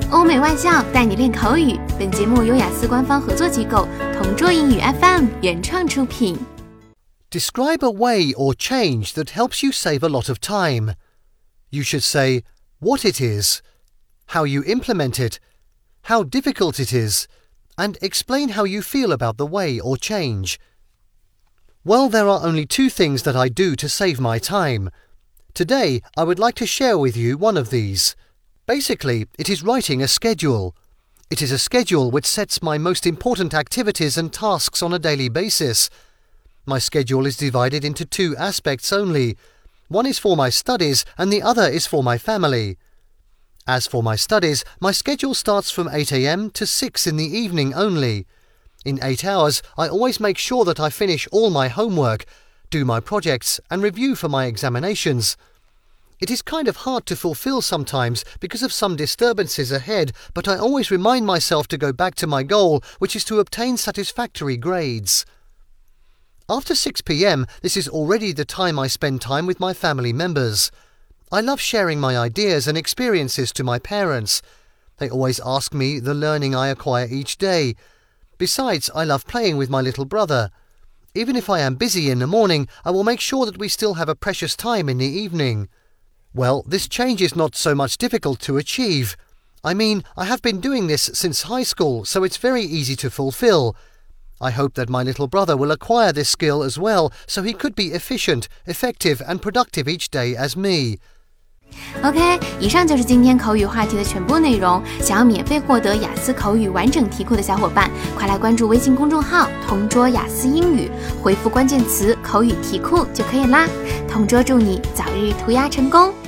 欧美外教带你练口语。本节目由雅思官方合作机构同桌英语 FM 原创出品。 Describe a way or change that helps you save a lot of time. You should say what it is, how you implement it, how difficult it is, and explain how you feel about the way or change. Well, there are only two things that I do to save my time. Today, I would like to share with you one of these. Basically, it is writing a schedule. It is a schedule which sets my most important activities and tasks on a daily basis. My schedule is divided into two aspects only. One is for my studies and the other is for my family. As for my studies, my schedule starts from 8 a.m. to 6 in the evening only. In 8 hours, I always make sure that I finish all my homework, do my projects and review for my examinations. It is kind of hard to fulfill sometimes because of some disturbances ahead, but I always remind myself to go back to my goal, which is to obtain satisfactory grades. After 6 p.m, this is already the time I spend time with my family members. I love sharing my ideas and experiences to my parents. They always ask me the learning I acquire each day. Besides, I love playing with my little brother. Even if I am busy in the morning, I will make sure that we still have a precious time in the evening. Well, this change is not so much difficult to achieve. I mean, I have been doing this since high school, so it's very easy to fulfill. I hope that my little brother will acquire this skill as well, so he could be efficient, effective and productive each day as me. OK， 以上就是今天口语话题的全部内容。想要免费获得雅思口语完整题库的小伙伴，快来关注微信公众号同桌雅思英语，回复关键词口语题库就可以啦。同桌祝你早日涂鸦成功。